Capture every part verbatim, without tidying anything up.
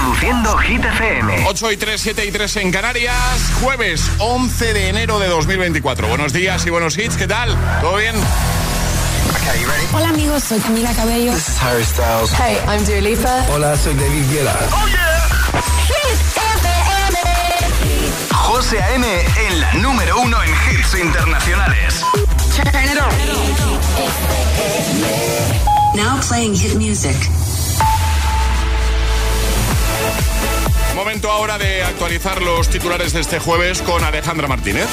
Reproduciendo Hit F M. ocho y tres, siete y tres en Canarias. Jueves once de enero de dos mil veinticuatro. Buenos días y buenos hits. ¿Qué tal? ¿Todo bien? Okay, you ready? Hola amigos, soy Camila Cabello. This is Harry Styles. Hey, I'm Dua Lipa. Hola, soy David Guetta. Oh yeah. Hit F M. José A M en la número uno en hits internacionales. Turn it on. Now playing hit music. Momento ahora de actualizar los titulares de este jueves con Alejandra Martínez.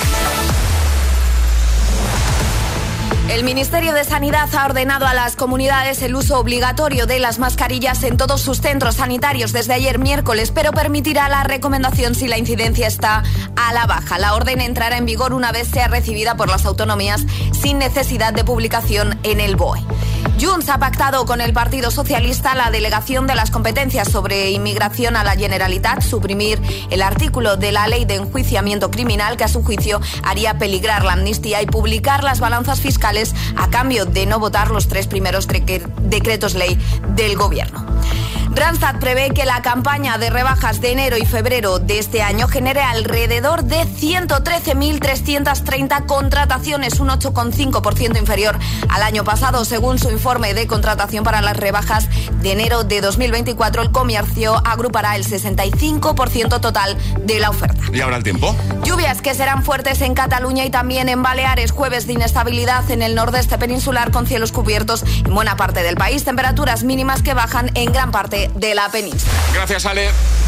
El Ministerio de Sanidad ha ordenado a las comunidades el uso obligatorio de las mascarillas en todos sus centros sanitarios desde ayer miércoles, pero permitirá la recomendación si la incidencia está a la baja. La orden entrará en vigor una vez sea recibida por las autonomías sin necesidad de publicación en el B O E. Junts ha pactado con el Partido Socialista la delegación de las competencias sobre inmigración a la Generalitat, suprimir el artículo de la Ley de Enjuiciamiento Criminal que a su juicio haría peligrar la amnistía y publicar las balanzas fiscales a cambio de no votar los tres primeros decretos ley del Gobierno. Randstad prevé que la campaña de rebajas de enero y febrero de este año genere alrededor de ciento trece mil trescientas treinta contrataciones, un ocho coma cinco por ciento inferior al año pasado. Según su informe de contratación para las rebajas de enero de dos mil veinticuatro, el comercio agrupará el sesenta y cinco por ciento total de la oferta. ¿Y ahora el tiempo? Lluvias que serán fuertes en Cataluña y también en Baleares. Jueves de inestabilidad en el nordeste peninsular con cielos cubiertos en buena parte del país. Temperaturas mínimas que bajan en gran parte de la península. Gracias, Ale.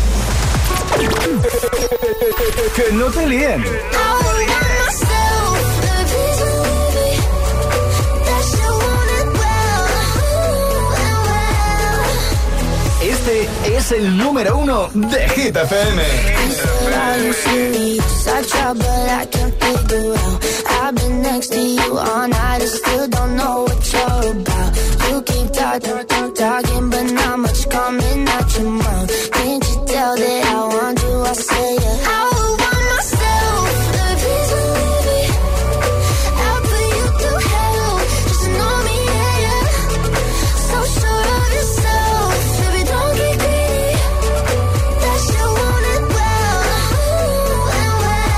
Que no te líen. Este es el número uno de Hit F M. I've been next to you all night and still don't know what you're about. You keep talking, talking, but not much coming out your mouth. Can't you tell that I want you? I say yeah. I would want myself the reason, baby. I'll put you through hell just to know me, yeah, yeah. So sure of yourself, baby, don't get greedy. That you want it well, and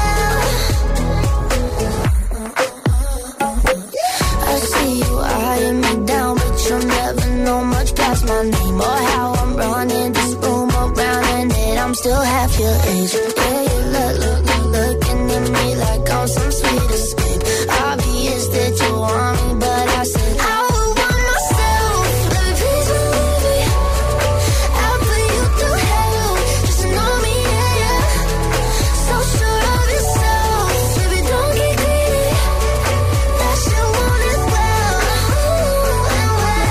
well. I see you eyeing me down, but you'll never know much past my name or how I'm running this room around and that I'm still half your age. Yeah, you look, look, look, looking at me like I'm some sweet escape. Obvious that you want me, but I said I would want myself the reason, baby. I'll put you through hell just to know me, yeah, yeah. So sure of yourself, baby, don't get greedy. That you want it well, and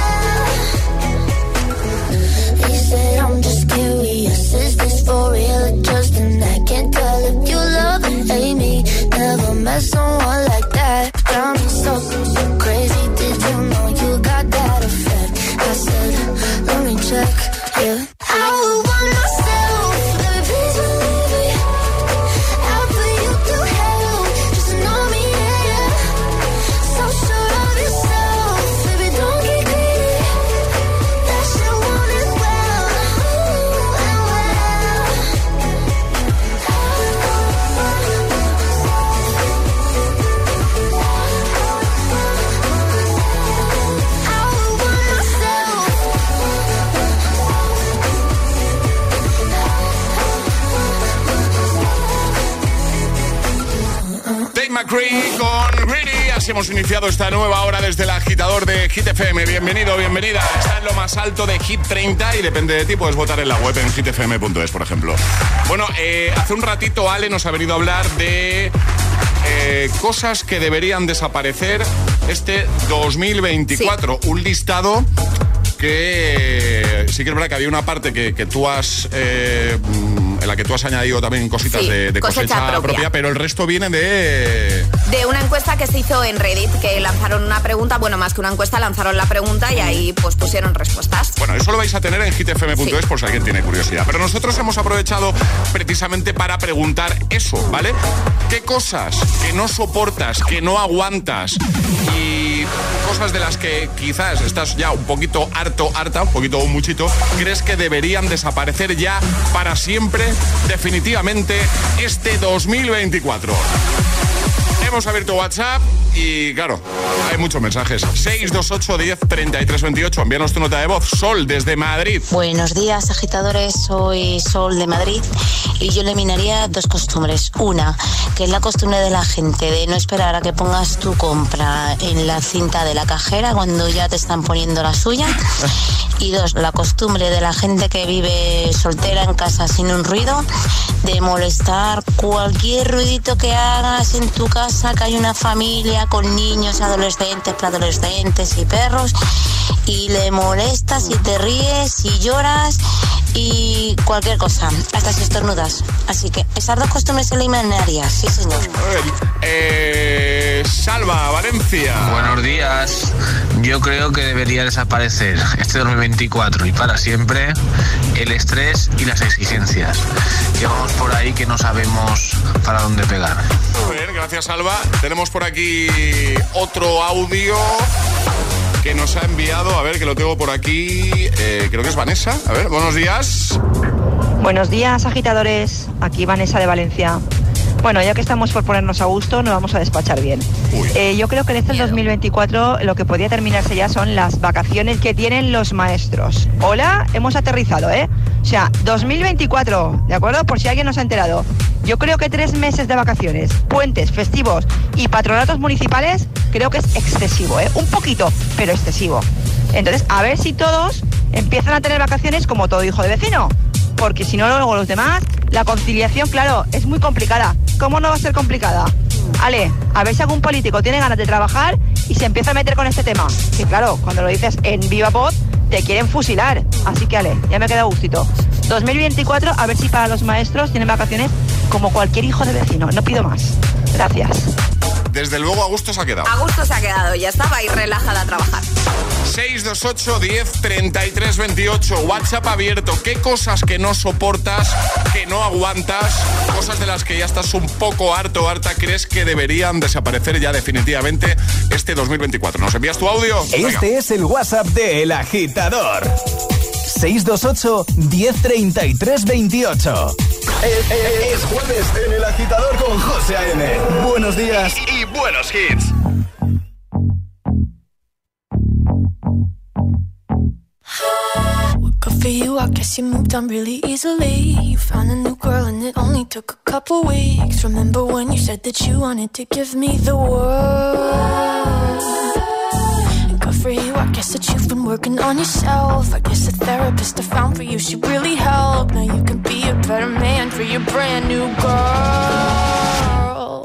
well. He said I'm just curious, is this for real or just an act? Can't tell if you love or hate me. Never met someone like that. Got me so, so crazy. Did you know you got that effect? I said, let me check, yeah. I would want myself the reason, baby. I'll put you through hell just to know me, yeah, yeah. So sure of yourself, baby, don't get greedy. That you want it well, and well. I would want myself. Tate McCree con Greedy. Así hemos iniciado esta nueva hora desde el agitador de Hit F M. Bienvenido, bienvenida. Está en lo más alto de Hit treinta y depende de ti, puedes votar en la web en hit f m punto es, por ejemplo. Bueno, eh, hace un ratito Ale nos ha venido a hablar de eh, cosas que deberían desaparecer este dos mil veinticuatro. Sí. Un listado que sí que es verdad que había una parte que, que tú has eh, en la que tú has añadido también cositas sí, de, de cosecha, cosecha propia. propia, pero el resto viene de... De una encuesta que se hizo en Reddit, que lanzaron una pregunta, bueno, más que una encuesta, lanzaron la pregunta y ahí pues pusieron respuestas. Bueno, eso lo vais a tener en hit f m punto es sí. por si alguien tiene curiosidad. Pero nosotros hemos aprovechado precisamente para preguntar eso, ¿vale? ¿Qué cosas que no soportas, que no aguantas y cosas de las que quizás estás ya un poquito harto, harta, un poquito o muchito, crees que deberían desaparecer ya para siempre, definitivamente, este dos mil veinticuatro? Hemos abierto WhatsApp y, claro, hay muchos mensajes. seis dos ocho, diez, treinta y tres, veintiocho. Envíanos tu nota de voz. Sol, desde Madrid. Buenos días, agitadores. Soy Sol, de Madrid. Y yo eliminaría dos costumbres. Una, que es la costumbre de la gente de no esperar a que pongas tu compra en la cinta de la cajera cuando ya te están poniendo la suya. Y dos, la costumbre de la gente que vive soltera en casa sin un ruido, de molestar cualquier ruidito que hagas en tu casa, que hay una familia con niños, adolescentes, preadolescentes y perros, y le molestas y te ríes y lloras y cualquier cosa, hasta si estornudas. Así que esas dos costumbres se eliminarían, sí señor. Eh, Salva, Valencia. Buenos días. Yo creo que debería desaparecer este dos mil veinticuatro y para siempre el estrés y las exigencias. Que vamos por ahí que no sabemos para dónde pegar. Muy bien, gracias Salva. Tenemos por aquí otro audio que nos ha enviado, a ver, que lo tengo por aquí, eh, creo que es Vanessa. A ver, buenos días. Buenos días, agitadores. Aquí Vanessa de Valencia. Bueno, ya que estamos por ponernos a gusto, nos vamos a despachar bien. Eh, yo creo que en este dos mil veinticuatro lo que podría terminarse ya son las vacaciones que tienen los maestros. Hola, hemos aterrizado, ¿eh? O sea, dos mil veinticuatro, ¿de acuerdo? Por si alguien no se ha enterado. Yo creo que tres meses de vacaciones, puentes, festivos y patronatos municipales, creo que es excesivo, ¿eh? Un poquito, pero excesivo. Entonces, a ver si todos empiezan a tener vacaciones como todo hijo de vecino. Porque si no, luego los demás, la conciliación, claro, es muy complicada. ¿Cómo no va a ser complicada? Ale, a ver si algún político tiene ganas de trabajar y se empieza a meter con este tema. Que claro, cuando lo dices en viva voz, te quieren fusilar. Así que Ale, ya me queda gustito. dos mil veinticuatro, a ver si para los maestros tienen vacaciones como cualquier hijo de vecino. No pido más. Gracias. Desde luego a gusto se ha quedado. A gusto se ha quedado, ya estaba ahí relajada a trabajar. seis dos ocho, diez, treinta y tres, veintiocho. WhatsApp abierto. ¿Qué cosas que no soportas, que no aguantas, cosas de las que ya estás un poco harto o harta, crees que deberían desaparecer ya definitivamente este dos mil veinticuatro? ¿Nos envías tu audio? Este Venga. es el WhatsApp de El Agitador. seis dos ocho, diez, treinta y tres, veintiocho. Es, es, es jueves en El Agitador con José A M. Buenos días y, y buenos hits. Good for you, I guess you moved on really easily. You found a new girl and it only took a couple weeks. Remember when you said that you wanted to give me the world? Good for you, I guess that you've been working on yourself. I guess the therapist I found for you should really help. Now you can be a better man for your brand new girl.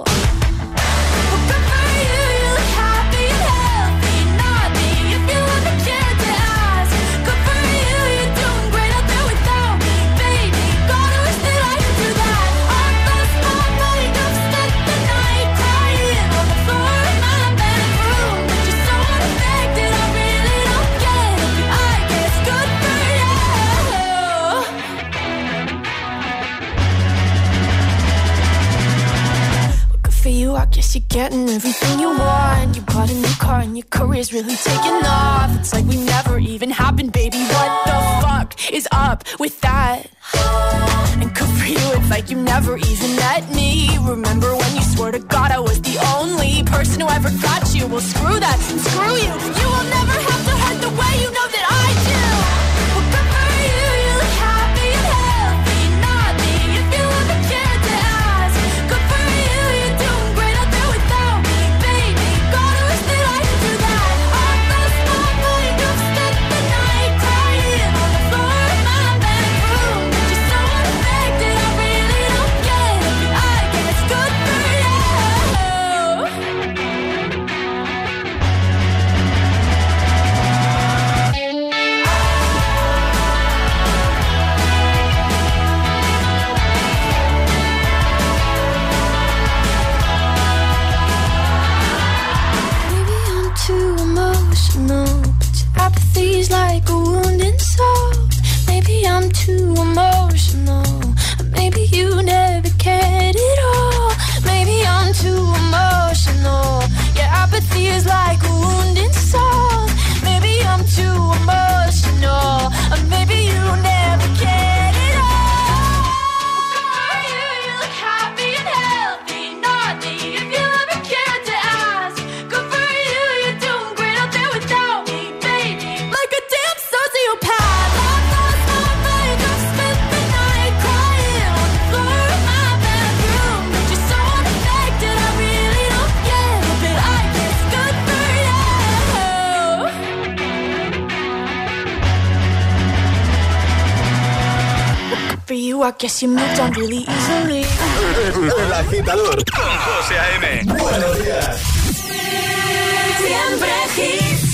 I guess you're getting everything you want. You bought a new car and your career's really taking off. It's like we never even happened, baby. What the fuck is up with that? And good for you, it's like you never even met me. Remember when you swore to God I was the only person who ever got you? Well, screw that and screw you. You will never have to hurt the way you know that I do. Well, good for you, you look happy and healthy. Not me, if you ever cared to ask. Good for you, you're doing great out there without me, baby. God, I wish that I could do that. I lost my mind, you've spent the night crying on the floor of my bedroom. But you're so unaffected, I really don't get it. I guess good for you. Too emotional, but your apathy's like a wounded soul. Maybe I'm too emotional, or maybe you never cared at all. Maybe I'm too emotional, your apathy is like a wounded soul. for you, I guess you moved on really easily. El Agitador con José A M. Buenos días. Siempre hits.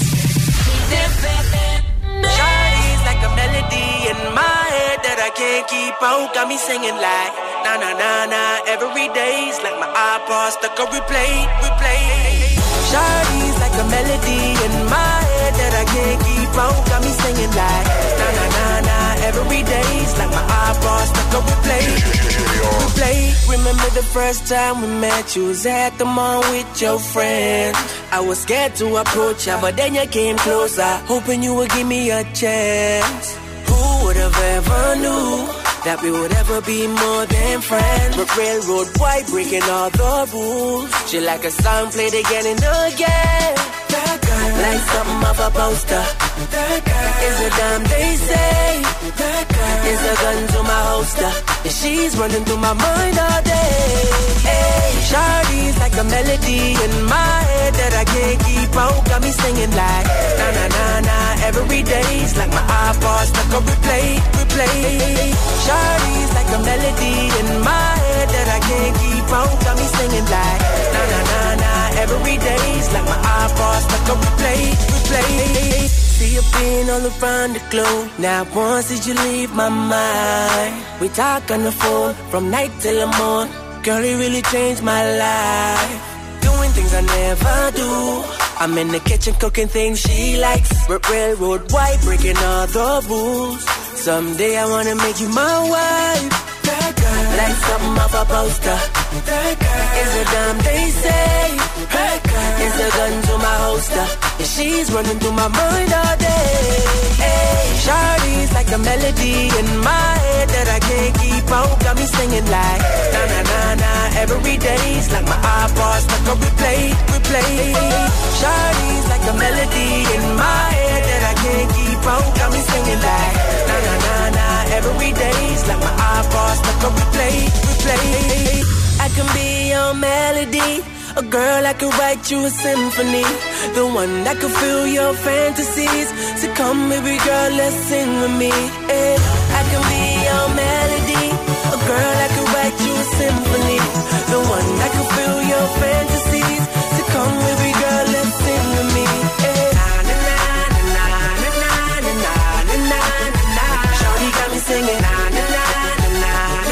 Shawty's like a melody in my head that I can't keep out. Got me singing like na na na na. Every day's like my iPod stuck on replay, replay. Shawty's like a melody in my head that I can't keep out. Got me singing like na na na na. Every day's like my iPod stuck on replay, replay. Remember the first time we met? You was at the mall with your friend. I was scared to approach ya, but then you came closer, hoping you would give me a chance. Who would have ever knew that we would ever be more than friends? We're railroad white, breaking all the rules. She like a song played again and again. That girl, like something off a poster. That girl is a damn they say. That girl is a gun to my holster, and she's running through my mind all day. Hey, Shawty's like a melody in my head that I can't keep out. Got me singing like na na na na. Every day's like my iPod stuck on replay, replay. Shawty's like a melody in my head that I can't keep out. Got me singing like na na na na. Every day's like my iPod stuck on replay, replay. See you been all around the globe. Now once did you leave my mind? We talk on the phone from night till the morning. Girl, it really changed my life. Doing things I never do. I'm in the kitchen cooking things she likes. Railroad white, breaking all the rules. Someday I wanna make you my wife. That girl, like something off a poster. That girl is a damn they say. That girl is a gun to my holster, and she's running through my mind all day. Hey, Shawty's like a melody in my head that I can't keep out. Got me singing like na na na na. Every day's like my iPod stuck on replay, replay. Shawty's like a melody in my head that I can't keep out. Got me singing like na na na na. Every day's like my iPod stuck on replay, replay. I can be your melody, a girl that could write you a symphony, the one that could fill your fantasies. So come, baby girl, let's sing with me. Yeah. I can be your melody, a girl that could write you a symphony, the one that could fill your fantasies. So come, baby girl, let's sing with me. Yeah. Na na na na na na na na na na. Shawty got me singing na na na na na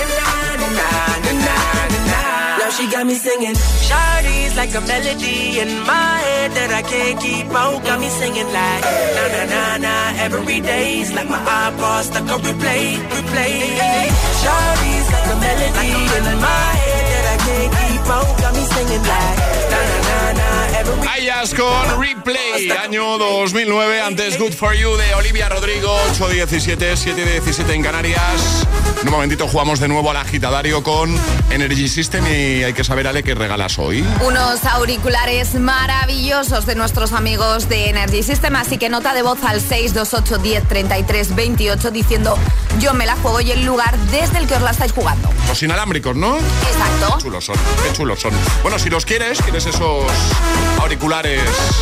na na na na. Now she got me singing. Shawty's like a melody in my head that I can't keep out. Got me singing like na na na na. Every day's like my iPod stuck on replay, replay. Shawty's like a melody in my head that I can't keep out. Got me singing like na na na na. Every Ayas con Replay, año dos mil nueve, antes Good For You de Olivia Rodrigo, ocho diecisiete, siete diecisiete en Canarias. En un momentito jugamos de nuevo al agitadario con Energy System y hay que saber, Ale, qué regalas hoy. Unos auriculares maravillosos de nuestros amigos de Energy System, así que nota de voz al seis dos ocho, diez, treinta y tres, veintiocho diciendo yo me la juego y el lugar desde el que os la estáis jugando. Los inalámbricos, ¿no? Exacto. Qué chulos son, qué chulos son. Bueno, si los quieres, quieres esos auriculares,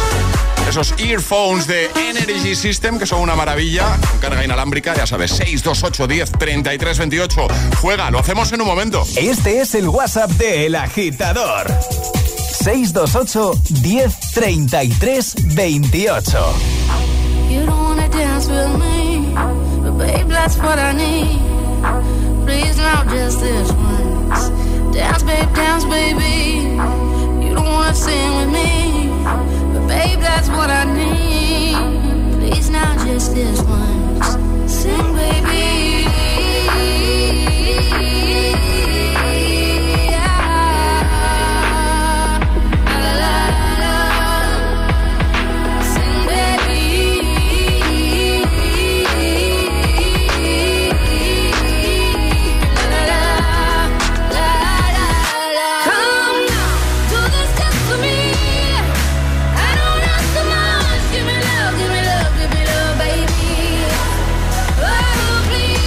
esos earphones de Energy System, que son una maravilla, con carga inalámbrica, ya sabes, seis dos ocho, diez, treinta y tres, veintiocho. Juega, lo hacemos en un momento. Este es el WhatsApp de El Agitador. seis dos ocho, diez, treinta y tres, veintiocho. You don't wanna dance with me, but babe, that's what I need. Please now just this once. Dance, babe, dance, baby. You don't wanna sing with me, but babe, that's what I need. Please now just this once. Sing, baby. Please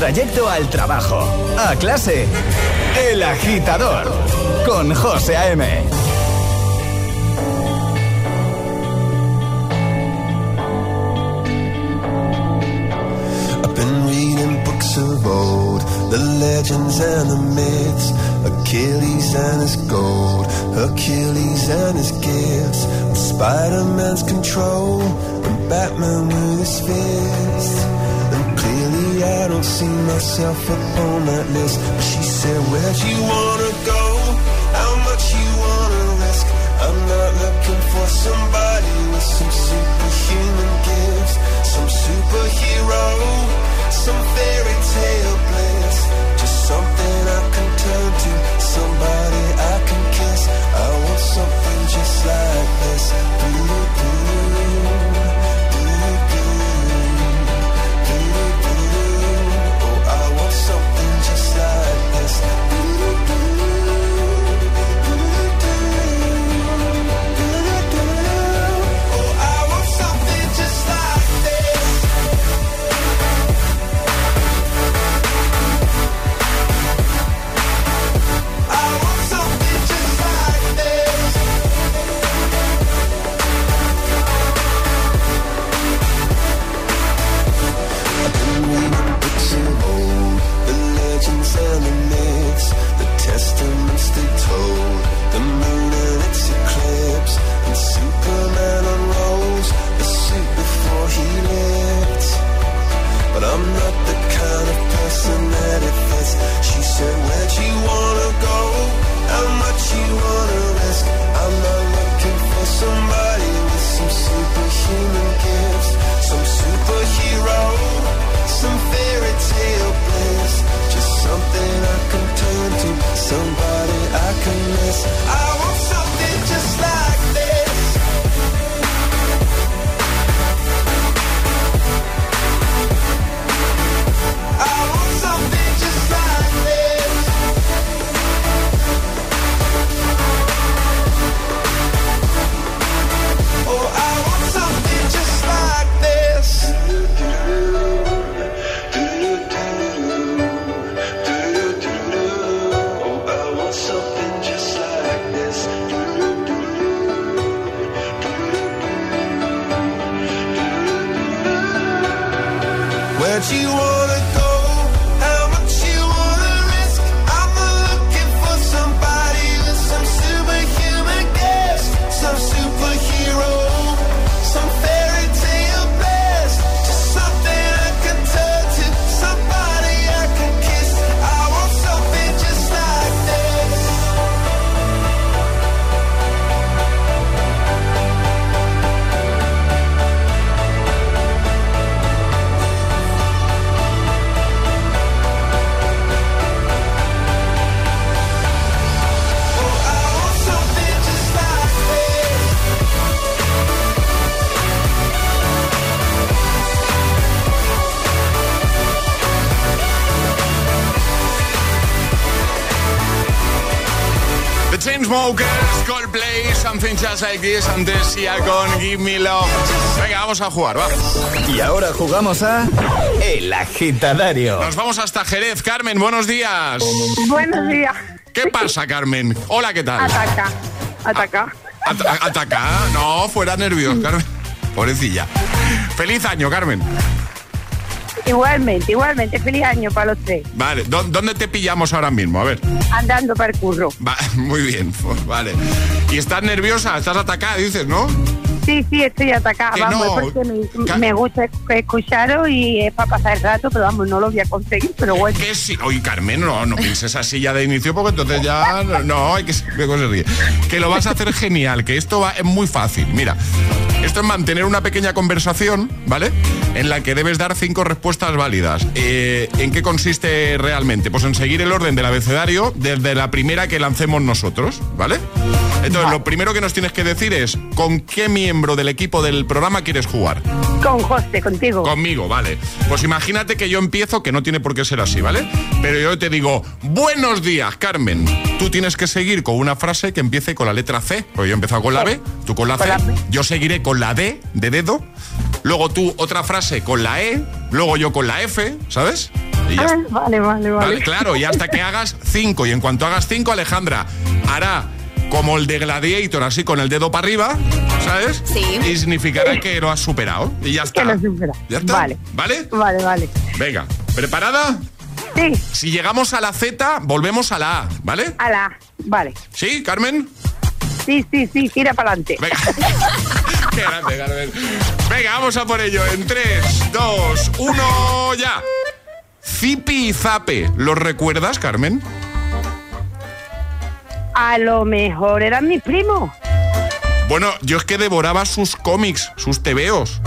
trayecto al trabajo, a clase. El Agitador, con José A M. I've been reading books of old, the legends and the myths, Achilles and his gold, Hercules and his gifts, and Spider-Man's control, and Batman with his fists. And clearly I don't see myself upon that list. But she said, where'd you wanna go? How much you wanna risk? I'm not looking for somebody with some superhuman gifts, some superhero, some fairy tale bliss, just something I can turn to, somebody I can kiss. I want something just like this. Oh, I want something just like this. Oh, I want something just like this. I want something just like this. I've been reading books of old, the legends and the myths, the testaments they told, the moon and its eclipse, and Superman unrolls the suit before he lived. But I'm not the kind of person that it fits. She said, where'd you wanna go? How much you wanna risk? I'm not looking for somebody with some superhuman gifts, some superhero, some fairy tale bliss, just something I can turn to, somebody I can miss. I want something just like this. I want something just like this. Oh, I want something just like this. Oh, I want something just like this. Where'd you wanna go? How much you wanna risk? I'm not looking for somebody with some superhuman gifts, some superhero, some fairy tale bliss, just something I can turn to, somebody I can kiss. I want something just like this. Oh, I want something just like this. The Chainsmokers, Coldplay, Something Just Like This, antes Sia con Give Me Love. Venga, vamos a jugar, va. Y ahora jugamos a El Agitadario. Nos vamos hasta Jerez. Carmen, buenos días. Buenos días. ¿Qué pasa, Carmen? Hola, ¿qué tal? Ataca. Ataca. At- ¿Ataca? No, fuera nervios, Carmen. Pobrecilla. Feliz año, Carmen. Igualmente, igualmente. Feliz año para los tres. Vale, ¿dó- ¿dónde te pillamos ahora mismo? A ver. Andando para el curro. Va, muy bien, pues, vale. ¿Y estás nerviosa? ¿Estás atacada, dices, no? Sí, sí, estoy atacada. Que Vamos, no. es porque me, Ca- me gusta escucharos y es para pasar el rato, pero vamos, no lo voy a conseguir, pero bueno. Que sí. Oye, Carmen, no, no pienses así ya de inicio porque entonces ya... No, hay que... luego se ríe. Que lo vas a hacer genial, que esto va, es muy fácil. Mira, esto es mantener una pequeña conversación, ¿vale? En la que debes dar cinco respuestas válidas. Eh, ¿En qué consiste realmente? Pues en seguir el orden del abecedario desde la primera que lancemos nosotros, ¿vale? Entonces, lo primero que nos tienes que decir es ¿con qué miembro del equipo del programa quieres jugar? Con José, contigo. Conmigo, vale. Pues imagínate que yo empiezo, que no tiene por qué ser así, ¿vale? Pero yo te digo, buenos días, Carmen. Tú tienes que seguir con una frase que empiece con la letra C. Pues yo he empezado con la B, tú con la C. Yo seguiré con la D de dedo luego tú otra frase con la E, luego yo con la F, ¿sabes? Y ya Ah, está. vale, vale, vale. Vale, claro, y hasta que hagas cinco. Y en cuanto hagas cinco, Alejandra hará como el de Gladiator, así con el dedo para arriba, ¿sabes? Sí. Y significará que lo has superado. Y ya está. Que lo supera. ¿Ya está? Vale. ¿Vale? Vale, vale. Venga, ¿preparada? Sí. Si llegamos a la Z, volvemos a la A, ¿vale? A la... Vale. ¿Sí, Carmen? Sí, sí, sí, tira para adelante. Venga. Qué grande, Carmen. Venga, vamos a por ello. En tres, dos, uno, ya. Zipi y Zape, ¿los recuerdas, Carmen? A lo mejor eran mis primos. Bueno, yo es que devoraba sus cómics, sus tebeos.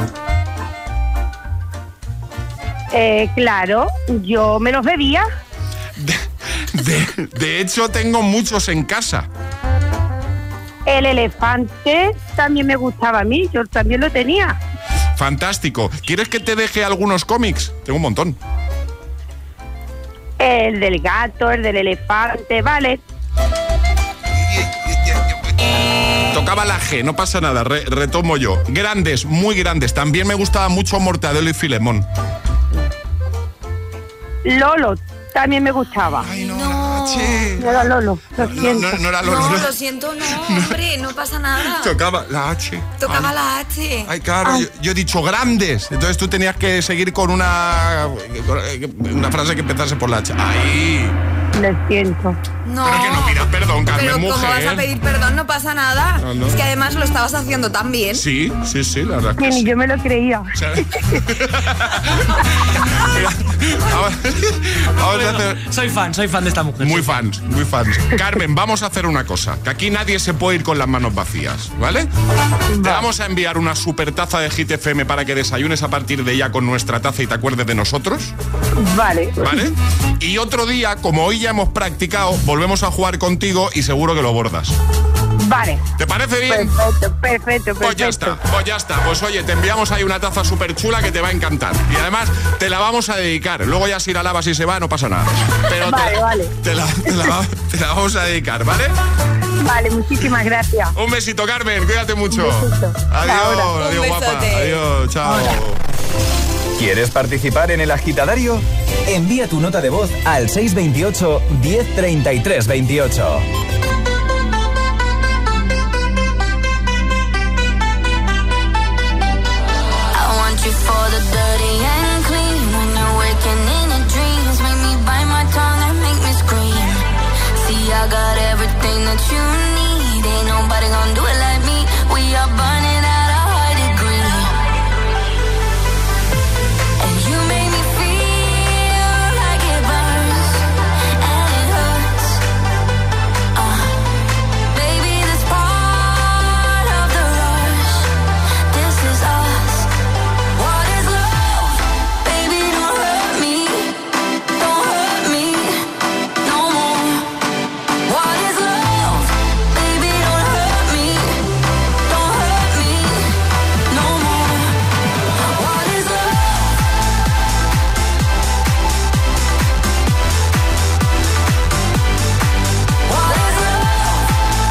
Eh, claro, yo me los bebía. De, de hecho, tengo muchos en casa. El elefante también me gustaba a mí, yo también lo tenía. Fantástico. ¿Quieres que te deje algunos cómics? Tengo un montón. El del gato, el del elefante, vale. Tocaba la G, no pasa nada, re- retomo yo. Grandes, muy grandes. También me gustaba mucho Mortadelo y Filemón. Lolo también me gustaba. Ay, no, No. H. No era Lolo, lo No, siento. no, no era Lolo. No, no. lo siento, no, hombre, no pasa nada. Tocaba la H. Tocaba Ay. la H. Ay, claro, yo, yo he dicho grandes. Entonces tú tenías que seguir con una una frase que empezase por la H. Ay. Lo siento. No. Pero que no pidas perdón, Carmen, Pero mujer. ¿cómo vas a pedir perdón? No pasa nada. No, no. Es que además lo estabas haciendo tan bien. Sí, sí, sí, la verdad. Que Que ni sí. yo me lo creía. O sea, Mira, vamos, vamos a hacer... Soy fan, soy fan de esta mujer. Muy fans, muy fans. Carmen, vamos a hacer una cosa. Que aquí nadie se puede ir con las manos vacías, ¿vale? Te vamos a enviar una super taza de Hit F M para que desayunes a partir de ya con nuestra taza y te acuerdes de nosotros, Vale. ¿vale? Y otro día, como hoy ya hemos practicado, volvemos a jugar contigo y seguro que lo bordas. Vale. ¿Te parece bien? Perfecto, perfecto, perfecto. Pues ya está, pues ya está. Pues oye, te enviamos ahí una taza súper chula que te va a encantar. Y además te la vamos a dedicar. Luego ya si la lavas y se va, no pasa nada. Pero Vale, te, vale. Te, la, te, la, te la vamos a dedicar, ¿vale? Vale, muchísimas gracias. Un besito, Carmen, cuídate mucho. Un besito. Adiós, Ahora. adiós, Un guapa. besote. Adiós, chao. ¿Quieres participar en el agitadario? Envía tu nota de voz al seis dos ocho, diez treinta y tres veintiocho. I want you for the dirty and clean. When you're waking in your dreams, make me bite my tongue and make me scream. See, I got everything that you need. Ain't nobody gonna do it like me. We are burning at a high degree. And you make me feel like it burns and it hurts. Uh, baby, this part of the rush. This is us. What is love? Baby, don't hurt me. Don't hurt me no more. What is love? Baby, don't hurt me. Don't hurt me no more. What is love? What is love?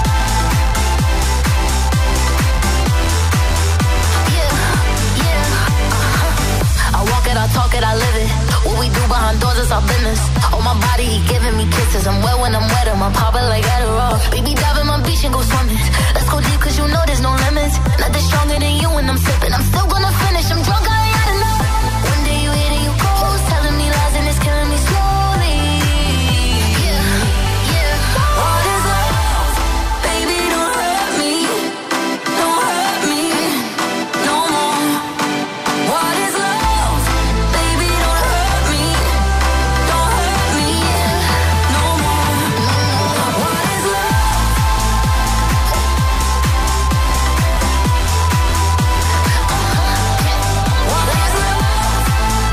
Yeah, yeah. Uh-huh. I walk it, I talk it, I live it. What we do behind doors is our business. On my body, he giving me kisses. I'm wet when I'm wet, I'm popping like Adderall. Baby, dive in my beach and go swimming. Let's go deep, cause you know there's no limits. Nothing stronger than you when I'm sipping. I'm still gonna finish, I'm drunk, I ain't had enough. One day you hit and you close, telling me lies and it's killing me slowly. Yeah, yeah. What is love? Baby, don't hurt me. Don't hurt me no more. What is love? Baby, don't hurt me. Don't hurt me no more. What is love? What is love?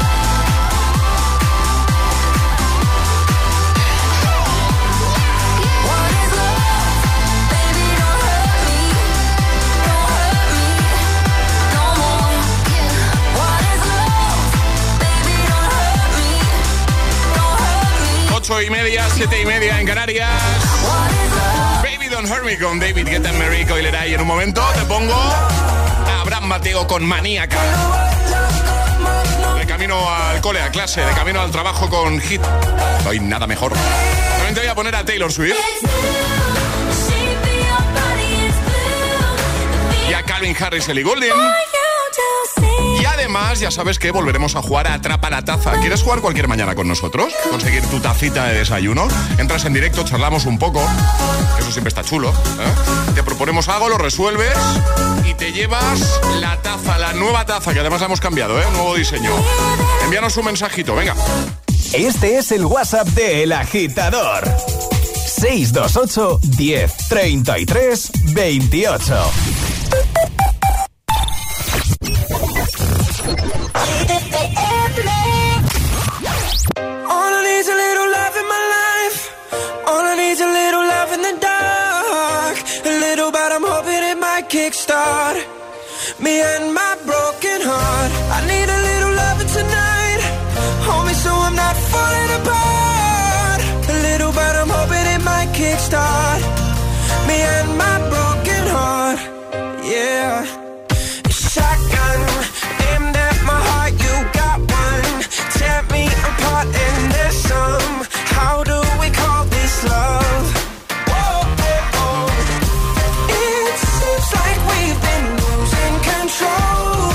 What is love? Baby, don't hurt me. Don't hurt me no more. What is love? Baby, don't hurt me. Don't hurt me. Ocho y media, siete y media en Canarias. What is love? Baby Don't Hurt Me con David Guetta, Mary Coileray. En un momento te pongo a Abraham Mateo con Maníaca. De camino al cole, a clase, de camino al trabajo con Hit. No hay nada mejor. También te voy a poner a Taylor Swift. Y a Calvin Harris, Ellie Goulding. Y además, ya sabes que volveremos a jugar a Atrapa la Taza. ¿Quieres jugar cualquier mañana con nosotros? Conseguir tu tacita de desayuno. Entras en directo, charlamos un poco. Eso siempre está chulo, ¿eh? Te proponemos algo, lo resuelves y te llevas la taza, la nueva taza, que además la hemos cambiado, ¿eh? Un nuevo diseño. Envíanos un mensajito, venga. Este es el WhatsApp de El Agitador. seis dos ocho, diez, treinta y tres, veintiocho. All I need is a little love in my life. All I need is a little love in the dark. A little, but I'm hoping it might kickstart me and my broken heart. I need a little love tonight. Hold me so I'm not falling apart. A little, but I'm hoping it might kickstart me and my broken heart. Yeah. Shotgun aimed at my heart. You got one. Tear me apart and there's some. How do we call this love? Whoa, oh, oh. It seems like we've been losing control.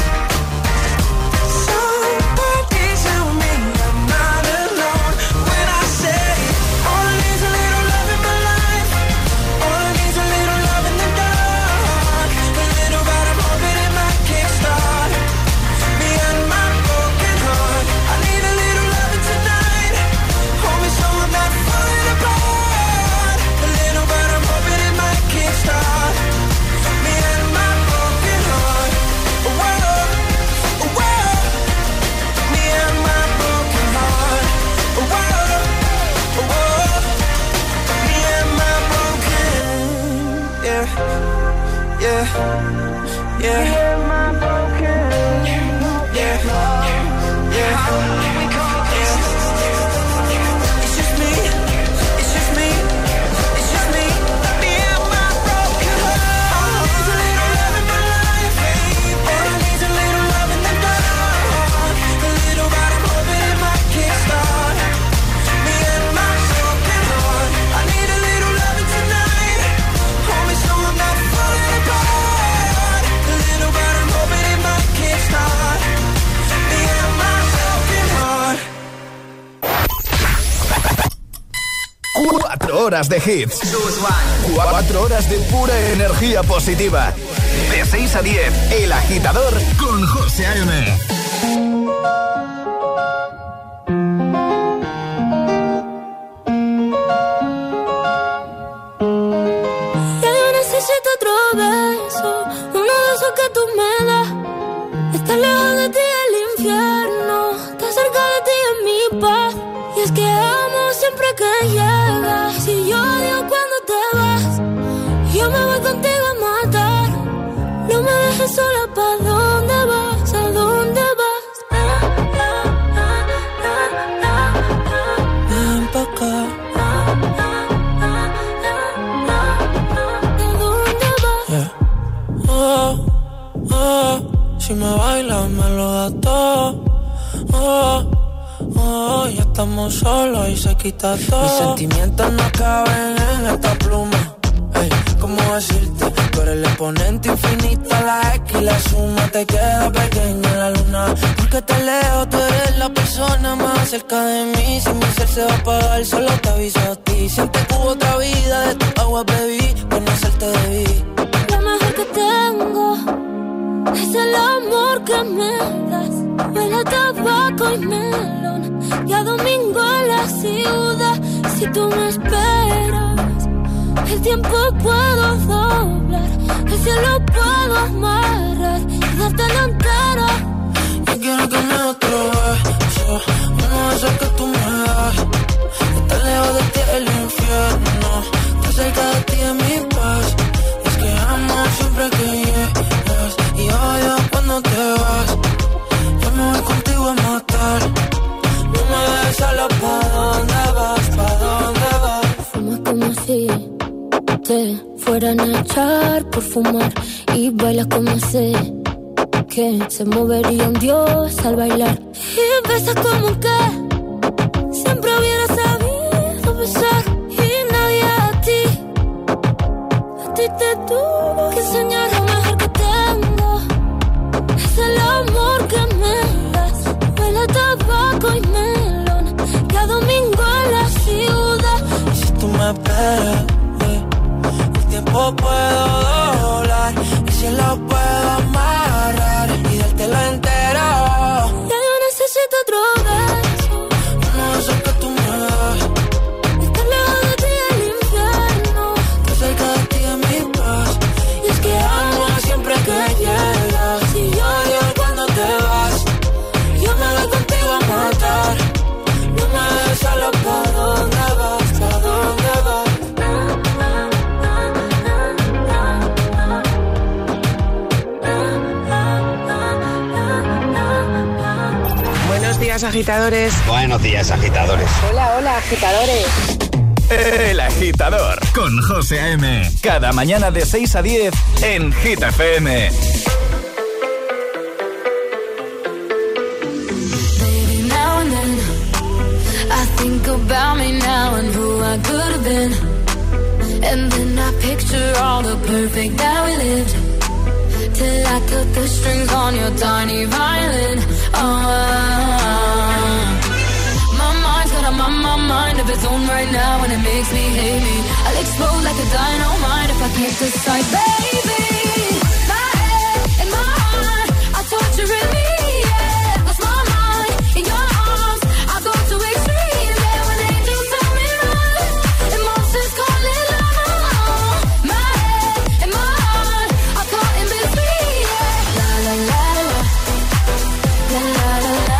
Somebody tell me I'm not alone when I say all I need is a little love in my life. All I need is a little love in the dark. A little, but I'm hoping it might kickstart me and my broken heart. I need a little love tonight. Hold me so I'm not falling apart. A little, but I'm hoping it might kickstart me and my broken heart. Whoa, whoa. Me and my broken heart. Whoa, whoa. Me and my broken. Yeah, yeah, yeah. Me and my broken. Yeah, yeah. It's just me. It's just me. It's just me. Me and my broken heart. All I need is a little love in my life. All I need is a little love in the dark. A little, but I'm hoping it might kickstart me and my broken heart. I need a little love tonight. Hold me so I'm not falling apart. A little, but I'm hoping it might kickstart me and my broken heart. Cuatro horas de hits. Cuatro horas de pura energía positiva. De seis a diez, El Agitador con José A.M. Ya yo necesito otro beso, uno de esos que tú me das. Estar lejos de ti es el infierno, estar cerca de ti es mi paz. Y es que amo siempre que llegas. Si yo odio cuando te vas, yo me voy contigo a matar. No me dejes sola, ¿pa' dónde vas? ¿A dónde vas? Ven pa' acá. ¿A dónde vas? Yeah. Oh, oh, si me bailas me lo das todo. Oh, oh, ya estamos solos y se quita todo. Mis sentimientos no caben en esta pluma. Ey, ¿cómo decirte? Tú eres el exponente infinito, la X y la suma te queda pequeña en la luna. Porque te leo, tú eres la persona más cerca de mí. Si mi ser se va a apagar, solo te aviso a ti. Siempre que hubo otra vida, de tu agua bebí, conocerte debí. Lo mejor que tengo es el amor que me das. Huele a tabaco y melón, y a domingo en la ciudad. Si tú me esperas, el tiempo puedo doblar, el cielo puedo amarrar y dártelo entero. Yo quiero que me otro beso, uno de esos que tú me das. Estar lejos de ti es el infierno, estar cerca de ti es mi paz. Y es que amo siempre que llegas y odio cuando te vas. Yo me voy contigo a matar. No me dejes solo, ¿pa' dónde vas? ¿Pa' dónde vas? Fumas como si te fueran a echar por fumar y bailas como si que se movería un dios al bailar. Y besas como que siempre hubiera sabido besar. Y nadie a ti, a ti te tuvo que enseñar lo mejor que tengo. Es el amor que me das. Huele a tabaco y melón, cada domingo en la ciudad. Y si tú me esperas, eh, el tiempo puedo doblar. Y si lo puedo amarrar y dártelo entero. Ya yo necesito otro beso, uno de esos que tú me das. estar lejos de ti el infierno, Que cerca de ti es mi paz. Y es que amo siempre que llegas. Y yo odio cuando te vas. Yo me voy contigo a matar. No me dejes solo, ¿pa' dónde vas? ¿Pa' dónde vas? Buenos días, agitadores. Buenos días, agitadores. Hola, hola, agitadores. El Agitador con José A M. Cada mañana de seis a diez en Hit F M. baby, now and then I think about me now and who I could have been. And then I picture all the perfect that we lived. Till I cut the strings on your tiny violin. Oh, my mind's got a my, my mind of its own right now, and it makes me hate me. I'll explode like a dynamite if I can't decide, baby. My head and my heart are torturing me. Yeah, lost my mind in your arms. I go to extremes. Yeah, when angels tell me run, emotions calling love. My head and my heart are caught in between. Yeah, la la la la, la la la la.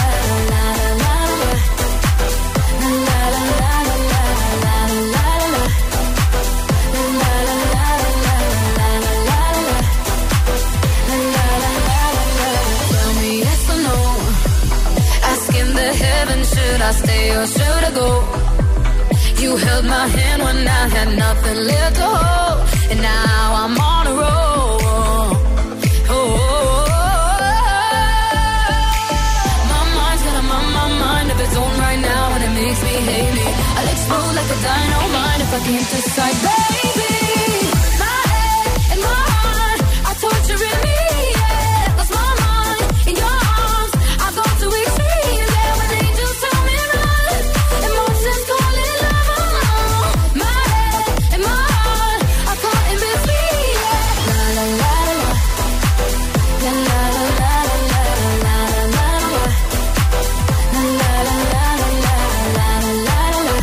Should I stay or should I go? You held my hand when I had nothing left to hold, and now I'm on a roll. Oh, oh, oh. My mind's got a my, my mind of its own right now, and it makes me hate me. I'll explode like a dynamite if I can't decide, baby. My head and my heart are torturing me. Yeah, lost my mind in your arms. I go to extremes. Yeah, when angels tell me run, emotions calling love. My head and my heart are caught in between. Yeah, la la la la, la la la la la la la la la, la la la la la la la la la.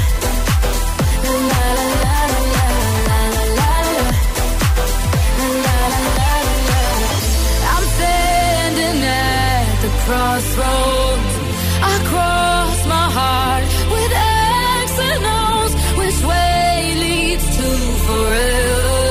I'm standing at the crossroads. I cross my heart with X and O's. Which way leads to forever?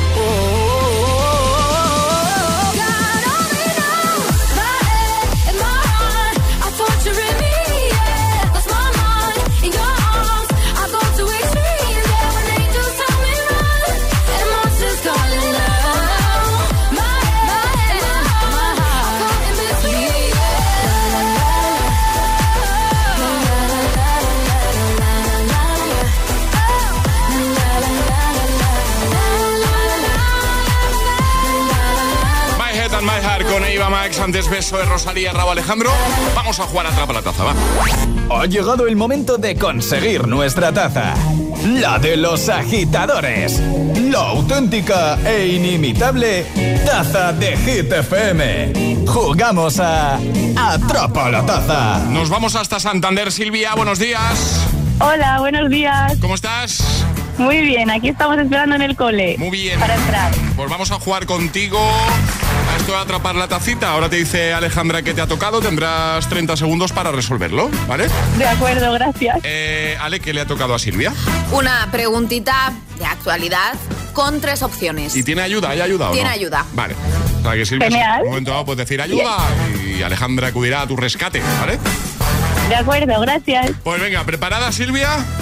Oh, God only knows. My head and my heart are torturing me. Yeah, lost my mind in your arms. I go to extremes. Yeah, when angels tell me run, emotions calling love. My head, my head, my heart, caught in between. La la la la, la la la la la la la, la la la la. My Head and My Heart con Eva Max, antes Beso de Rosalía, Rauw Alejandro. Vamos a jugar a Atrapa la Taza, va. Ha llegado el momento de conseguir nuestra taza. La de los agitadores. La auténtica e inimitable taza de Hit F M. Jugamos a Atrapa la Taza. Nos vamos hasta Santander. Silvia, buenos días. Hola, buenos días. ¿Cómo estás? Muy bien, aquí estamos esperando en el cole. Muy bien. Para entrar. Pues vamos a jugar contigo a esto de atrapar la tacita. Ahora te dice Alejandra que te ha tocado. Tendrás treinta segundos para resolverlo, ¿vale? De acuerdo, gracias. Eh, Ale, ¿qué le ha tocado a Silvia? Una preguntita de actualidad con tres opciones. ¿Y tiene ayuda? ¿Hay ayuda o no? Tiene ayuda. Vale. O sea que Silvia, Genial. en un momento dado puedes decir ayuda y Alejandra acudirá a tu rescate, ¿vale? De acuerdo, gracias. Pues venga, ¿preparada, Silvia?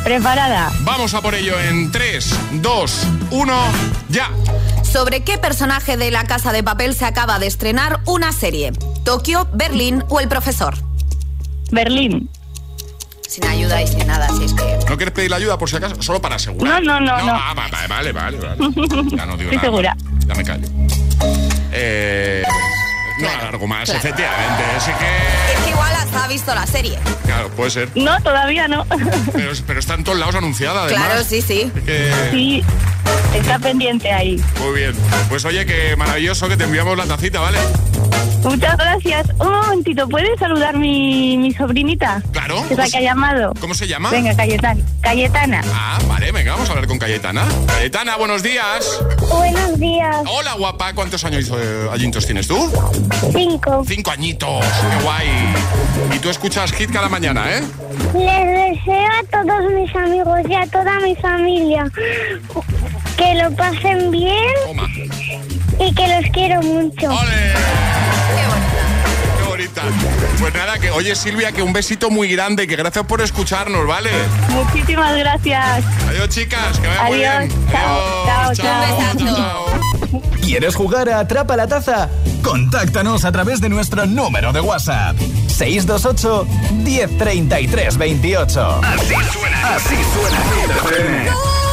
Preparada. Vamos a por ello en tres, dos, uno, ya. ¿Sobre qué personaje de La Casa de Papel se acaba de estrenar una serie? ¿Tokio, Berlín o El Profesor? Berlín. Sin ayuda y sin nada, si es que... ¿No quieres pedir la ayuda por si acaso? Solo para asegurar. No, no, no. no, no. Ah, vale, vale, vale, vale. Ya no digo Estoy nada. segura. Ya me callo. Eh... No Claro, alargo más, claro. efectivamente. Así que... Es que igual hasta ha visto la serie. Claro, puede ser. No, todavía no. Pero, pero está en todos lados anunciada, además. Claro, sí, sí. Que... Sí, está pendiente ahí. Muy bien. Pues oye, que maravilloso que te enviamos la tacita, ¿vale? Muchas gracias. Un momentito, ¿puedes saludar mi, mi sobrinita? Claro. Que es la que ha llamado. ¿Cómo se llama? Venga, Cayetana. Cayetana. Ah, vale, venga, vamos a hablar con Cayetana. Cayetana, buenos días. Buenos días. Hola, guapa. ¿Cuántos años eh, añitos tienes tú? Cinco. Cinco añitos. Qué guay. Y tú escuchas Hit cada mañana, ¿eh? Les deseo a todos mis amigos y a toda mi familia que lo pasen bien. Toma. Y que los quiero mucho. ¡Ole! Qué bonita. Pues nada, que oye, Silvia, que un besito muy grande y que gracias por escucharnos, ¿vale? Muchísimas gracias. Adiós, chicas, que vaya muy Adiós. bien. Chao, Adiós. chao, chao. chao. ¿Quieres jugar a Atrapa la Taza? Contáctanos a través de nuestro número de WhatsApp. seis dos ocho, uno cero tres tres, dos ocho. Así suena, así suena Hit F M.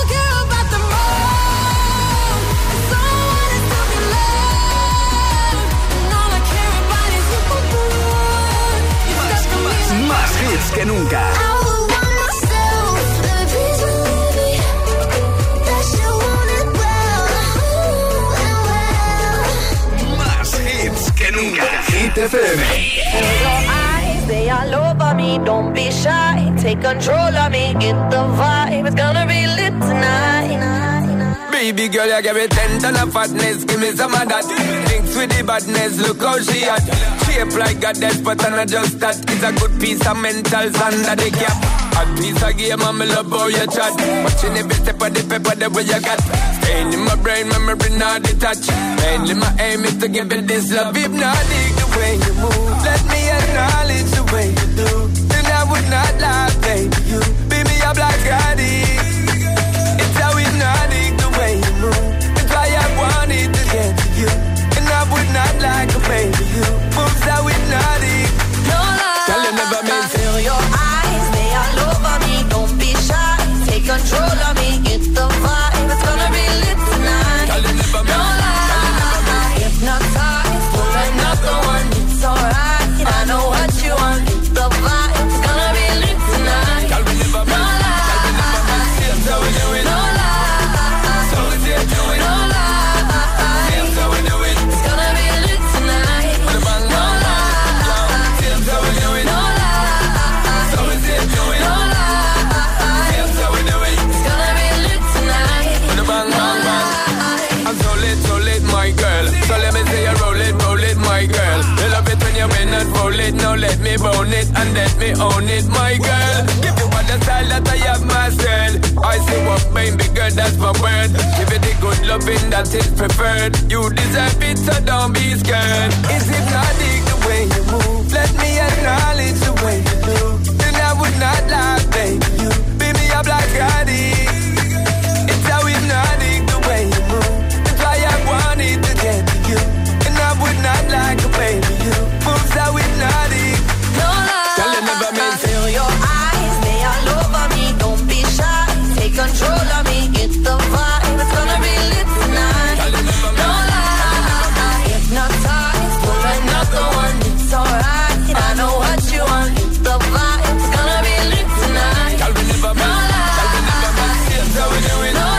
Más hits que nunca. Más hits que nunca. Hit F M. They all over me, don't be shy. Take control of me, get the vibe. It's gonna be lit tonight. Baby girl, you give me ten ton of fatness. Give me some of that. Mix with the badness, look how she at. Shape like a death, but I'm not just that. It's a good piece of mental under the cap. A piece of game, I'm love how you chat. Watching every step of the paper, the way you got. Staying in my brain, memory not detached. Mainly my aim is to give it this love. Hypnotic the way you move. Let me acknowledge the way you do. Then I would not lie, baby. You beat me up like I did. It's how hypnotic the way you move. That's why I wanted to get to you. And I would not lie, baby. You moves how hypnotic. No lie. Tell you never mean feel your eyes, they all over me. Don't be shy. Take control of me, get the vibe. It's gonna be lit tonight. Tell you never mean. No lie. Hypnotized, pull another one. It's alright. I know what you want. It's the vibe. It's gonna be lit tonight. Tell me never mean. No lie. Here's how we do it. No lie. So we say do it. No lie. Here's how we do it. It's gonna be lit tonight. With a bang, No bang, lie. here's how we do it. No lie. So we say do it. No lie. Here's how we do it. It's gonna be lit tonight. With a bang, bang, bang. I'm so lit, so lit, my girl. So let me say you roll it, roll it, my girl. You love it when you win and roll it. Now let me bone it and let me own it, my girl. Give you all the style that I have myself. I say what baby girl, that's my word. Give you the good loving that is preferred. You deserve it, so don't be scared. It's hypnotic the way you move. Let me acknowledge the way you do. Then I would not lie, baby. You beat me up like I did. It's how hypnotic the way you move. That's why I wanted to get to you. And I would not like a baby. You moves how hypnotic. No lie. Tell you never mean. Feel your eyes, they all over me. Don't be shy. Take control of me. Get the vibe. It's gonna be lit tonight. Tell you never No mean. lie. Hypnotized, pull another one. It's alright. I know what you want. It's the vibe. It's gonna be lit tonight. Tell me never No mean. lie. Tell me never mean. Here's how we do it. No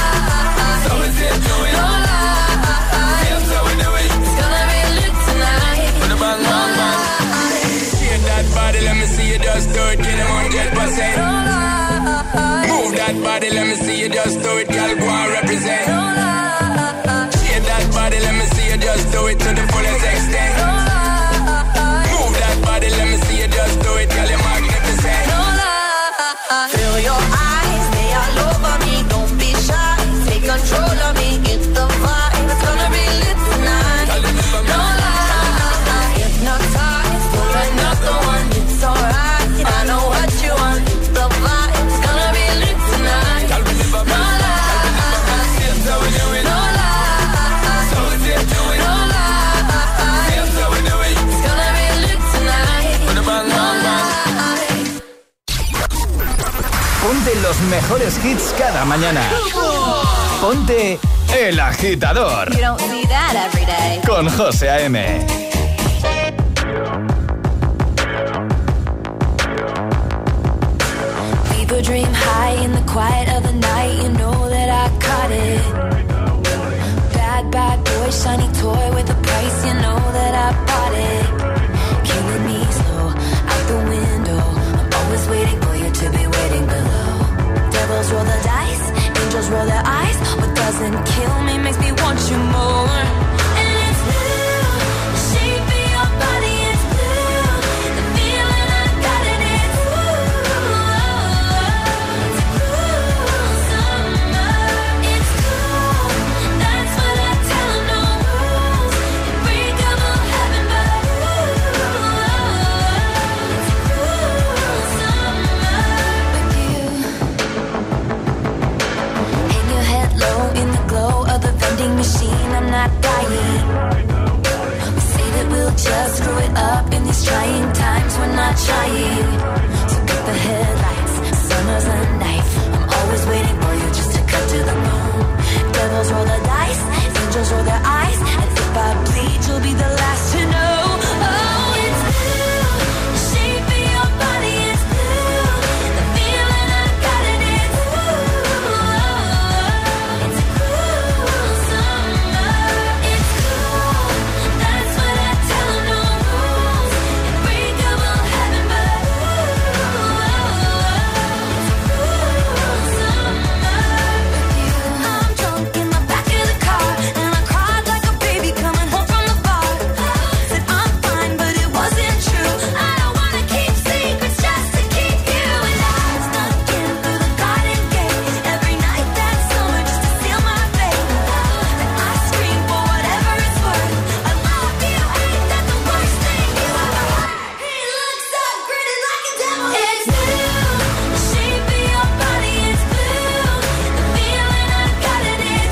lie. So we say do it. No lie. Here's how we do it. It's gonna be lit tonight. With a bang, bang, bang. Shake that body, let me see you just do it. Get them one hundred percent. Move that body, let me see you just do it. Girl, go and represent. Shake that body, let me see you just do it to the fullest extent. Move that body, let me see you just do it. Girl, you're magnificent. Feel your eyes, they all over me. Don't be shy. Take control of me. Get the vibe. It's gonna be lit tonight. No lie. Hypnotized, pull another one. It's alright. I know what you want. It's the vibe. It's gonna be Ponte los mejores hits cada mañana. Ponte El Agitador. You don't see that every day. Con José A M. People dream high in the quiet of the night. You know that I caught it. Bad, bad boy, shiny toy with a price. You know that I bought it. Killing me slow, out the window. I'm always waiting for you to be waiting below. Devils roll the dice, angels roll their eyes. What doesn't kill me makes me want you more. And it's blue, the shape of your body is blue. The feeling I got it is ooh. It's a cool summer. It's cool, that's what I tell 'em. No rules, unbreakable heaven, but ooh. It's a cool summer with you. Hang your head low in the glow of the vending machine. I'm not dying. We say that we'll just screw it up in these trying times. We're not trying. So cut the headlights. Summer's a knife. I'm always waiting for you just to cut to the bone. Devils roll the dice. Angels roll their eyes. And if I bleed, you'll be the last to know. Oh, it's blue. The shape of your body is blue. The feeling I got it is ooh. It's a cool summer. It's cool, that's what I tell 'em. No rules, unbreakable heaven, but ooh. It's a cool summer with you. I'm drunk in the back of the car, and I cried like a baby coming home from the bar. Said I'm fine, but it wasn't true. I don't wanna keep secrets just to keep you. And I snuck in through the garden gate every night that summer just to seal my fate. Then I scream for whatever it's worth. I love you, ain't that the worst thing you ever heard? He looks so gritty like a devil. It's blue, the shape of your body is blue. The feeling I got it is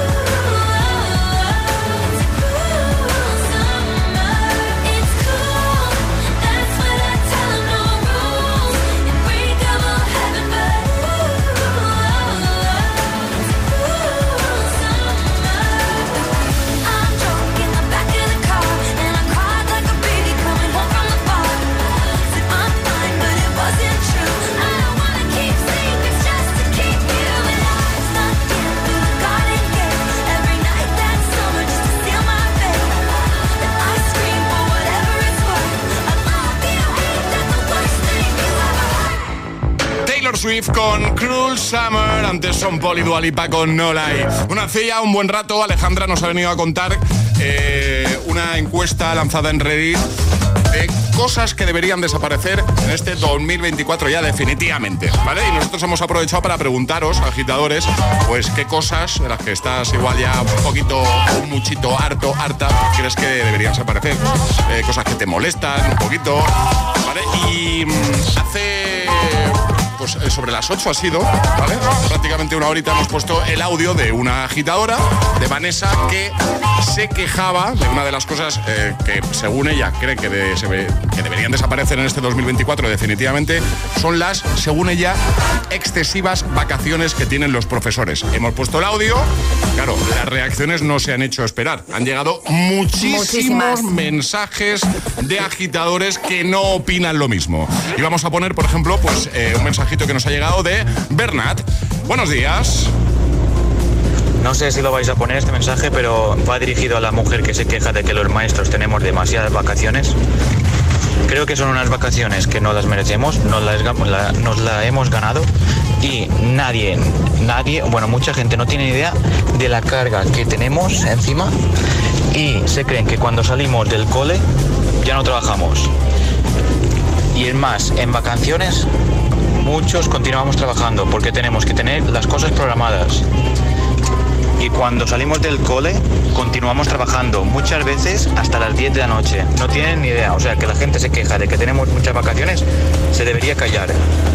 ooh. It's a cool summer. It's cool, that's what I tell 'em. No rules, unbreakable heaven, but ooh. It's a cool summer. I'm drunk in the back of the car, and I cried like a baby coming home from the bar. Said I'm fine, but it wasn't true. I don't wanna keep secrets just to keep you. And I snuck in through the garden gate every night that summer just to seal my fate. Then I scream for whatever it's worth. I love you, ain't that the worst thing you ever heard? Taylor Swift con Cruel Summer, antes Son Paul y Dua Lipa con No Lie. Bueno, hace ya un buen rato Alejandra nos ha venido a contar eh, una encuesta lanzada en Reddit de cosas que deberían desaparecer en este dos mil veinticuatro ya definitivamente, ¿vale? Y nosotros hemos aprovechado para preguntaros, agitadores, pues qué cosas de las que estás igual ya un poquito, un muchito harto, harta, crees que deberían desaparecer, eh, cosas que te molestan un poquito, ¿vale? Y mm, hace... pues sobre las ocho ha sido, ¿vale? Prácticamente una horita hemos puesto el audio de una agitadora, de Vanessa, que se quejaba de una de las cosas eh, que según ella cree que, de, se ve, que deberían desaparecer en este dos mil veinticuatro definitivamente, son las, según ella, excesivas vacaciones que tienen los profesores. Hemos puesto el audio, claro, las reacciones no se han hecho esperar. Han llegado muchísimos Muchísimas. mensajes de agitadores que no opinan lo mismo. Y vamos a poner, por ejemplo, pues eh, un mensaje que nos ha llegado de Bernat. Buenos días. No sé si lo vais a poner este mensaje, pero va dirigido a la mujer que se queja de que los maestros tenemos demasiadas vacaciones. Creo que son unas vacaciones que no las merecemos, nos las, la, nos la hemos ganado y nadie, nadie, bueno, mucha gente no tiene idea de la carga que tenemos encima y se creen que cuando salimos del cole ya no trabajamos. Y es más, en vacaciones muchos continuamos trabajando porque tenemos que tener las cosas programadas. Y cuando salimos del cole, continuamos trabajando, muchas veces hasta las diez de la noche. No tienen ni idea, o sea, que la gente se queja de que tenemos muchas vacaciones, se debería callar.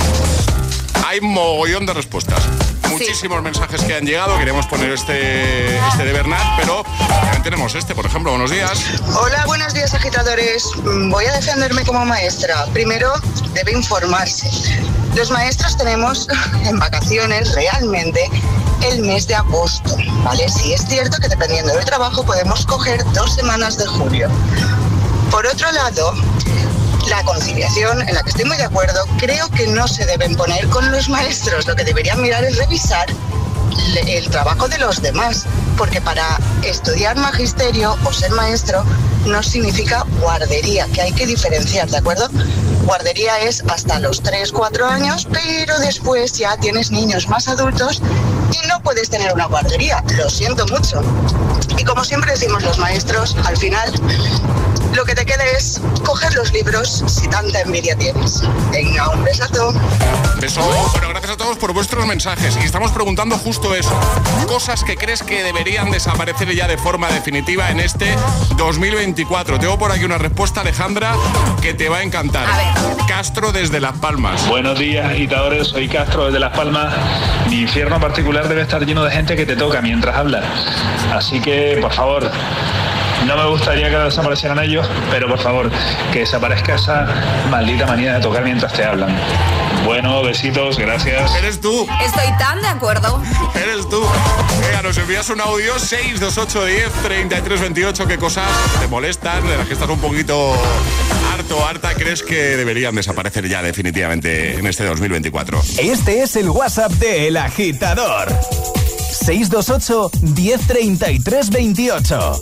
Hay mogollón de respuestas. Muchísimos sí. mensajes que han llegado. Queremos poner este, este de Bernat, pero también tenemos este, por ejemplo. Buenos días. Hola, buenos días, agitadores. Voy a defenderme como maestra. Primero, debe informarse. Los maestros tenemos en vacaciones realmente el mes de agosto, ¿vale? Sí, es cierto que dependiendo del trabajo podemos coger dos semanas de julio. Por otro lado, la conciliación, en la que estoy muy de acuerdo, creo que no se deben poner con los maestros. Lo que deberían mirar es revisar el trabajo de los demás, porque para estudiar magisterio o ser maestro no significa guardería, que hay que diferenciar, ¿de acuerdo? Guardería es hasta los tres, cuatro años, pero después ya tienes niños más adultos y no puedes tener una guardería, lo siento mucho. Y como siempre decimos los maestros, al final lo que te queda es coger los libros si tanta envidia tienes. Venga, un besazo. Beso. Bueno, gracias a todos por vuestros mensajes. Y estamos preguntando justo eso. Cosas que crees que deberían desaparecer ya de forma definitiva en este dos mil veinticuatro. Tengo por aquí una respuesta, Alejandra, que te va a encantar. A ver. Castro desde Las Palmas. Buenos días, agitadores. Soy Castro desde Las Palmas. Mi infierno particular debe estar lleno de gente que te toca mientras hablas. Así que, por favor, no me gustaría que desaparecieran ellos, pero por favor, que desaparezca esa maldita manía de tocar mientras te hablan. Bueno, besitos, gracias. Eres tú. Estoy tan de acuerdo. Eres tú. Venga, nos envías un audio seis dos ocho diez treinta y tres veintiocho. ¿Qué cosas te molestan, de las que estás un poquito harto o harta, crees que deberían desaparecer ya definitivamente en este dos mil veinticuatro? Este es el WhatsApp de El Agitador. seis dos ocho diez treinta y tres veintiocho.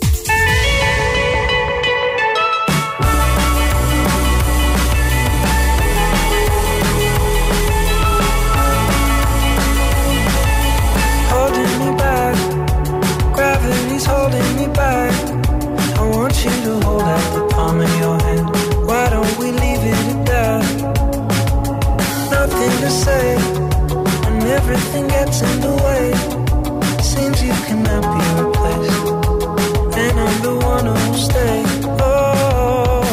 Holding me back. I want you to hold out the palm of your hand. Why don't we leave it at that? Nothing to say, and everything gets in the way. Seems you cannot be replaced, and I'm the one who'll stay. Oh,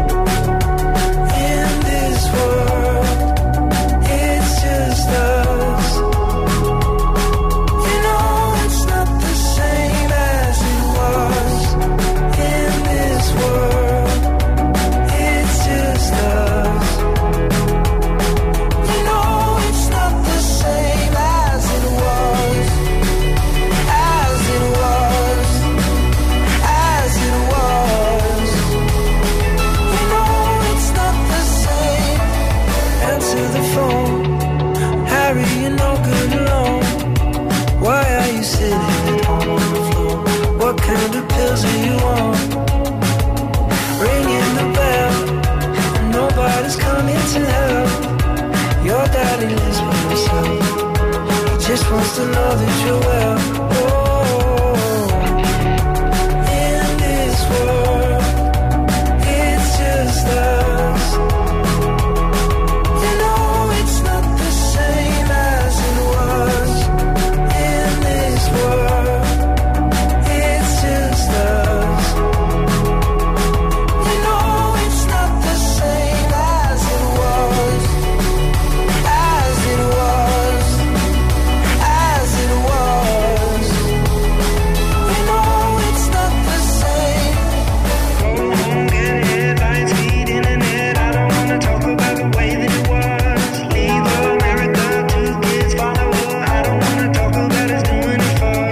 in this world, it's just us. You know it's not the same as it was. In this world, it's just us. You know it's not the same as it was. As it was. As it was. You know it's not the same. Answer the phone. Harry, you're no good alone. Why are you sitting at home on the floor? What kind of pills are you on? Ringing the bell, and nobody's coming to help. Your daddy lives by himself. He just wants to know that you're well. Oh, in this world, it's just us. You know it's not the same as it was. In this world, it's just us. You know it's not the same as it was. As it was. As it was. You know it's not the same. Go home, get headlines, feed internet. I don't wanna talk about the way that it was. Leave America, two kids follow her. I don't wanna talk about us doing it for.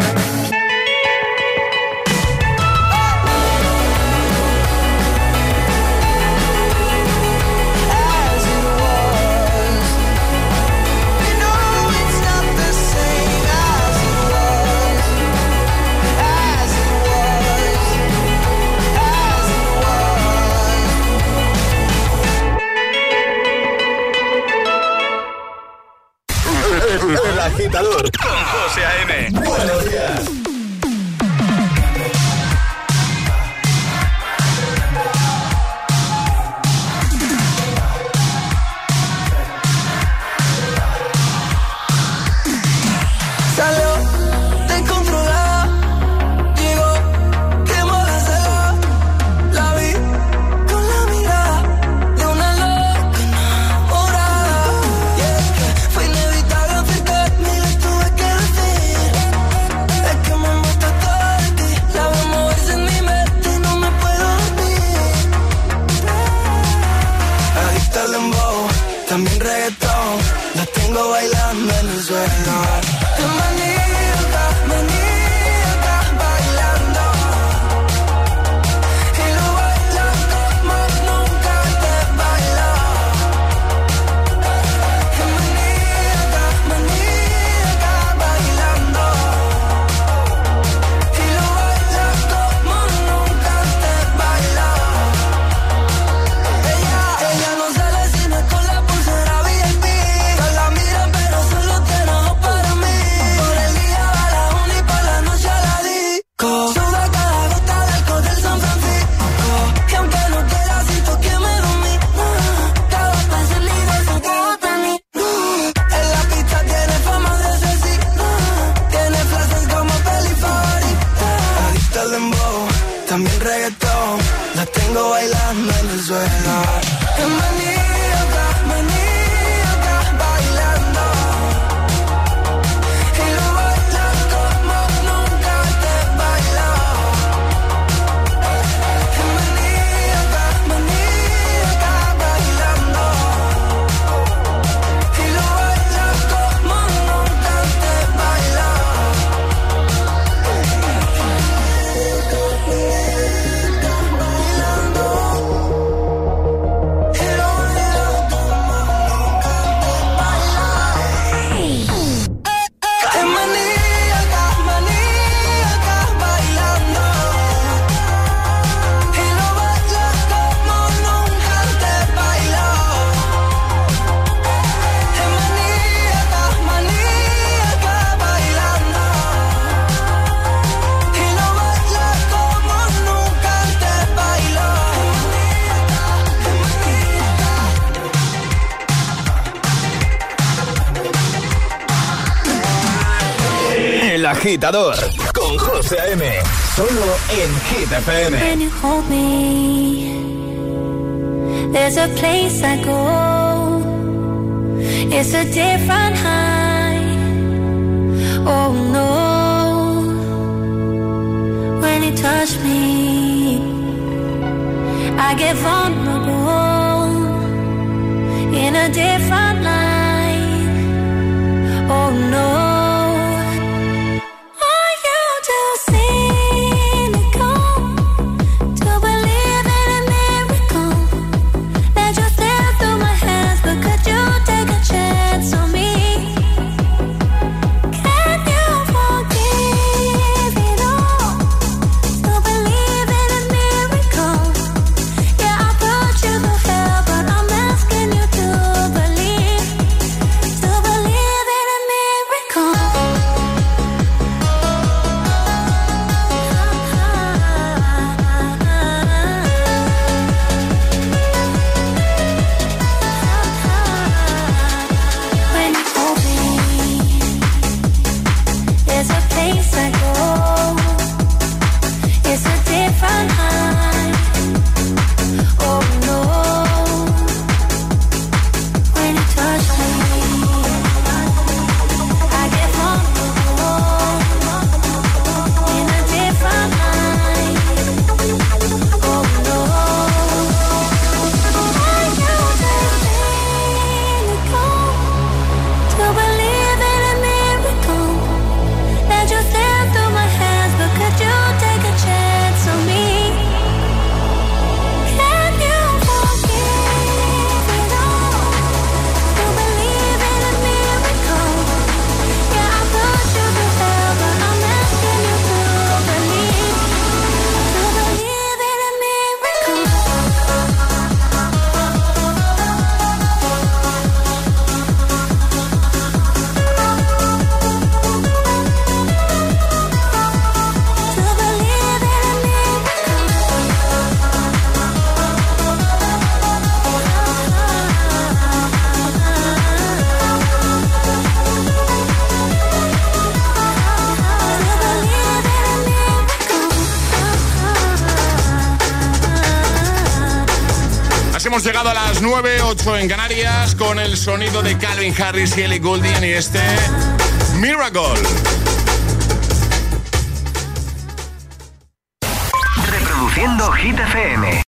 As it was. You know it's not the same as it was. As it was. As it was. El Agitador con José A M. Buenos días. Salió descontrolada, llegó, quemó la sala. La vi con la mirada de una loca enamorada. Y es que fue inevitable acercarme y le tuve que decir. Es que en el suelo. Qué maníaca, maníaca, bailando. Y lo bailas como nunca te bailó. Qué maníaca, maníaca, bailando. Y lo bailas como nunca te bailó. Ella, ella no sale si no es con la pulsera V I P. Todas la miran pero solo te enojo para mí. Por el día va la uni y por la noche a la disco. Suda cada gota del alcohol del San Francisco. Y aunque no quiera siento que me dormí. Cada vez el líder se te gusta a mí. En la pista tiene fama de asesino. Tiene frases como peli favorita. Adicta al dembow, también reggaetón. La tengo bailando en el suelo. Qué maníaca, maníaca, bailando. Y lo bailas como nunca te bailó. Qué maníaca, maníaca, bailando. Y lo bailas como nunca te bailó. Qué maníaca, maníaca, bailando. Y lo bailas como nunca te bailó. Qué maníaca, maníaca, bailando. Y lo bailas como nunca te bailó. El Agitador con José A.M. Solo en Hit F M. When you hold me, there's a place I go. It's a different high. Oh no. When you touch me, I get vulnerable in a different light. Oh no. Are you too cynical to believe in a miracle? Let you stare through my hands, but could you take a chance on me? Can you forgive it all? To believe in a miracle. Yeah, I put you through hell, but I'm asking you to believe, to believe in a miracle. When you hold me, there's a place I go. It's a different high. Oh no. When you touch me, I get vulnerable in a different light. Oh no. Are you just cynical to believe in a miracle? Let you stare through my hands, but could you take a chance on me? Can you forgive it all? To believe in a miracle. Yeah, I put you through hell, but I'm asking you to believe, to believe in a miracle. To believe in a Así hemos llegado a las nueve, ocho en Canarias con el sonido de Calvin Harris y Ellie Goulding y este Miracle. Reproduciendo Hit F M.